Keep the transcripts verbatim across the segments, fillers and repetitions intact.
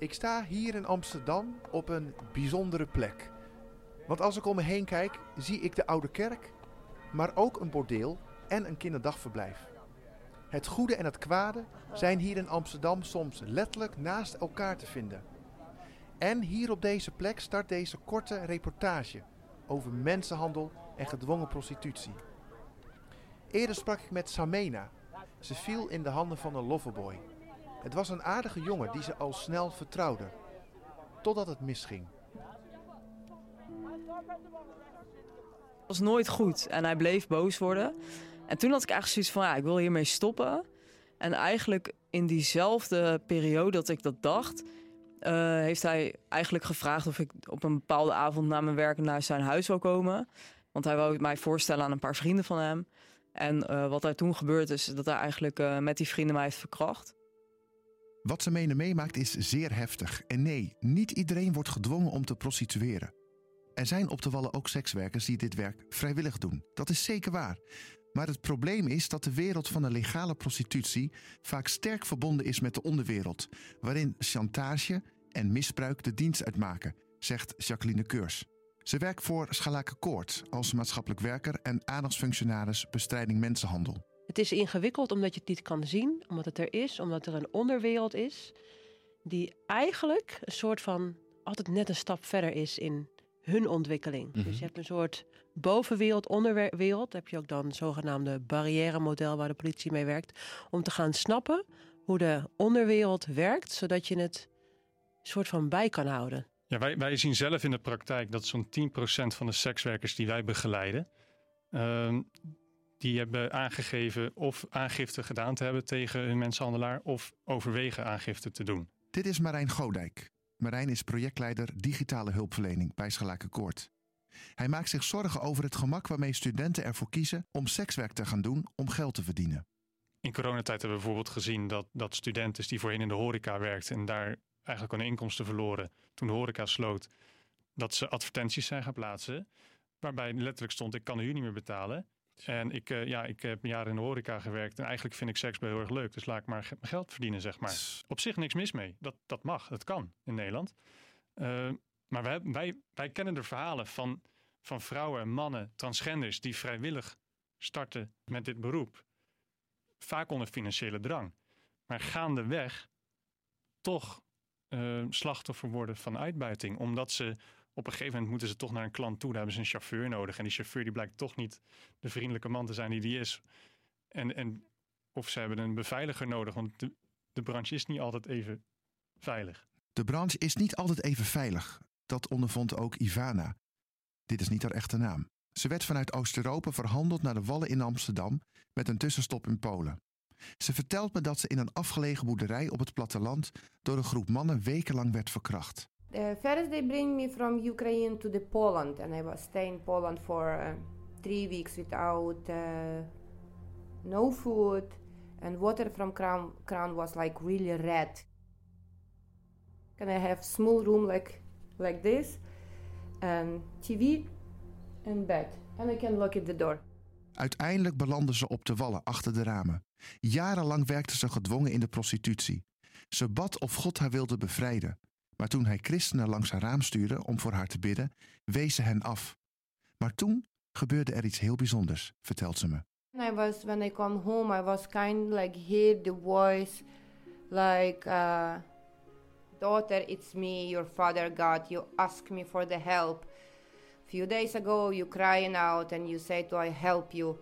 Ik sta hier in Amsterdam op een bijzondere plek. Want als ik om me heen kijk, zie ik de Oude Kerk, maar ook een bordeel en een kinderdagverblijf. Het goede en het kwade zijn hier in Amsterdam soms letterlijk naast elkaar te vinden. En hier op deze plek start deze korte reportage over mensenhandel en gedwongen prostitutie. Eerder sprak ik met Samena. Ze viel in de handen van een loverboy. Het was een aardige jongen die ze al snel vertrouwde. Totdat het misging. Het was nooit goed en hij bleef boos worden. En toen had ik eigenlijk zoiets van, ja, ik wil hiermee stoppen. En eigenlijk in diezelfde periode dat ik dat dacht, Uh, heeft hij eigenlijk gevraagd of ik op een bepaalde avond na mijn werk naar zijn huis wil komen. Want hij wou mij voorstellen aan een paar vrienden van hem. En uh, wat er toen gebeurd is, dat hij eigenlijk uh, met die vrienden mij heeft verkracht. Wat Samena meemaakt is zeer heftig. En nee, niet iedereen wordt gedwongen om te prostitueren. Er zijn op de Wallen ook sekswerkers die dit werk vrijwillig doen. Dat is zeker waar. Maar het probleem is dat de wereld van de legale prostitutie vaak sterk verbonden is met de onderwereld, waarin chantage en misbruik de dienst uitmaken, zegt Jacqueline Keurs. Ze werkt voor Schalakenkoord als maatschappelijk werker en aandachtsfunctionaris bestrijding mensenhandel. Het is ingewikkeld omdat je het niet kan zien, omdat het er is, omdat er een onderwereld is die eigenlijk een soort van altijd net een stap verder is in hun ontwikkeling. Mm-hmm. Dus je hebt een soort bovenwereld, onderwereld. Heb je ook dan zogenaamde barrière-model waar de politie mee werkt, om te gaan snappen hoe de onderwereld werkt, zodat je het soort van bij kan houden. Ja, wij, wij zien zelf in de praktijk dat zo'n tien procent van de sekswerkers die wij begeleiden, uh, die hebben aangegeven of aangifte gedaan te hebben tegen hun mensenhandelaar of overwegen aangifte te doen. Dit is Marijn Godijk. Marijn is projectleider digitale hulpverlening bij Schalakenkoord. Hij maakt zich zorgen over het gemak waarmee studenten ervoor kiezen om sekswerk te gaan doen om geld te verdienen. In coronatijd hebben we bijvoorbeeld gezien dat, dat studenten die voorheen in de horeca werkten en daar eigenlijk hun inkomsten verloren toen de horeca sloot, dat ze advertenties zijn gaan plaatsen waarbij letterlijk stond: ik kan de huur niet meer betalen. En ik, uh, ja, ik heb jaren in de horeca gewerkt en eigenlijk vind ik seks heel erg leuk. Dus laat ik maar mijn geld verdienen, zeg maar. Op zich niks mis mee. Dat, dat mag, dat kan in Nederland. Uh, maar wij, wij, wij kennen de verhalen van, van vrouwen en mannen, transgenders, die vrijwillig starten met dit beroep. Vaak onder financiële drang. Maar gaandeweg toch uh, slachtoffer worden van uitbuiting. Omdat ze op een gegeven moment moeten ze toch naar een klant toe. Daar hebben ze een chauffeur nodig. En die chauffeur die blijkt toch niet de vriendelijke man te zijn die die is. En, en, of ze hebben een beveiliger nodig. Want de, de branche is niet altijd even veilig. De branche is niet altijd even veilig. Dat ondervond ook Ivana. Dit is niet haar echte naam. Ze werd vanuit Oost-Europa verhandeld naar de Wallen in Amsterdam met een tussenstop in Polen. Ze vertelt me dat ze in een afgelegen boerderij op het platteland door een groep mannen wekenlang werd verkracht. Uh, first they bring me from Ukraine to the Poland and I was staying in Poland for uh, three weeks without uh, no food and water from crown, crown was like really red. And I have small room like like this and T V and bed and I can lock at the door. Uiteindelijk belandde ze op de Wallen achter de ramen. Jarenlang werkte ze gedwongen in de prostitutie. Ze bad of God haar wilde bevrijden. Maar toen hij christenen langs haar raam stuurde om voor haar te bidden, wees ze hen af. Maar toen gebeurde er iets heel bijzonders, vertelt ze me. I was, when I come home, I was kind of like hear the voice, like, uh, daughter, it's me, your father God, you ask me for the help. A few days ago, you crying out and you say to I help you.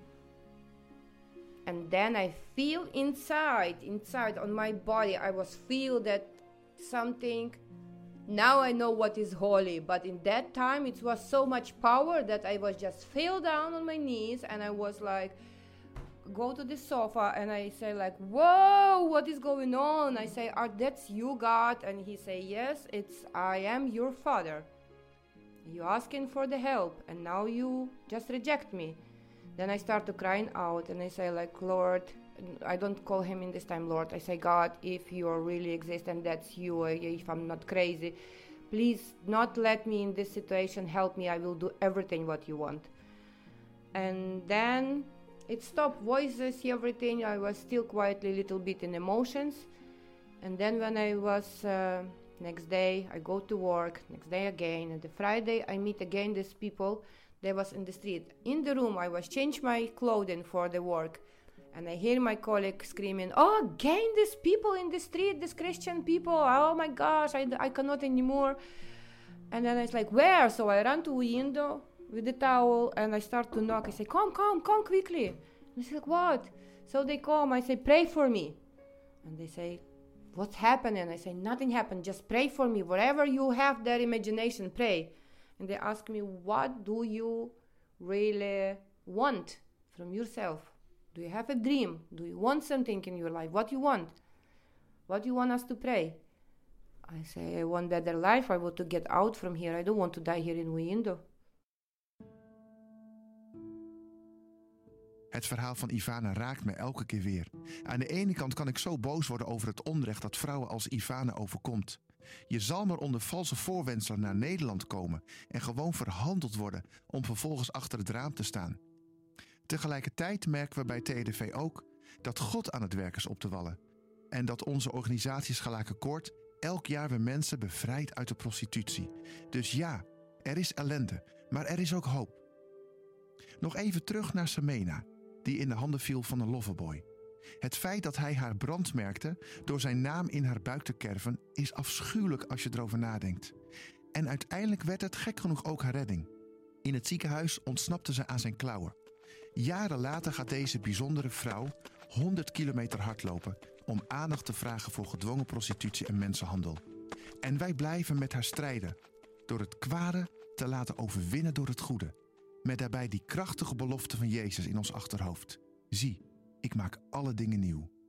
And then I feel inside, inside on my body, I was feel that something, now I know what is holy, but in that time it was so much power that I was just fell down on my knees and I was like, go to the sofa and I say like, whoa, what is going on? I say, are that's you, God? And he say, yes, it's I am your father. You asking for the help and now you just reject me. Then I start to crying out and I say like, Lord, I don't call him in this time Lord. I say, God, if you really exist and that's you, if I'm not crazy, please not let me in this situation, help me, I will do everything what you want. And then it stopped, voices, everything, I was still quietly a little bit in emotions. And then when I was, uh, next day, I go to work, next day again, and the Friday I meet again these people that was in the street. In the room, I was change my clothing for the work. And I hear my colleague screaming, oh, again these people in the street, these Christian people, oh my gosh, I, I cannot anymore. And then it's like, where? So I run to the window with the towel and I start to knock. I say, come, come, come quickly. And they like, what? So they come, I say, pray for me. And they say, what's happening? I say, nothing happened, just pray for me. Whatever you have that imagination, pray. And they ask me, what do you really want from yourself? Do you have a dream? Do you want something in your life? What you want? What do you want us to pray? I say, I want better life. I want to get out from here. I don't want to die here in Windo. Het verhaal van Ivana raakt me elke keer weer. Aan de ene kant kan ik zo boos worden over het onrecht dat vrouwen als Ivana overkomt. Je zal maar onder valse voorwendselen naar Nederland komen en gewoon verhandeld worden om vervolgens achter het raam te staan. Tegelijkertijd merken we bij T D V ook dat God aan het werk is op de Wallen. En dat onze organisatie Schalakenkoord elk jaar weer mensen bevrijdt uit de prostitutie. Dus ja, er is ellende, maar er is ook hoop. Nog even terug naar Semena, die in de handen viel van een loverboy. Het feit dat hij haar brandmerkte door zijn naam in haar buik te kerven is afschuwelijk als je erover nadenkt. En uiteindelijk werd het gek genoeg ook haar redding. In het ziekenhuis ontsnapte ze aan zijn klauwen. Jaren later gaat deze bijzondere vrouw honderd kilometer hardlopen om aandacht te vragen voor gedwongen prostitutie en mensenhandel. En wij blijven met haar strijden door het kwade te laten overwinnen door het goede. Met daarbij die krachtige belofte van Jezus in ons achterhoofd. Zie, ik maak alle dingen nieuw.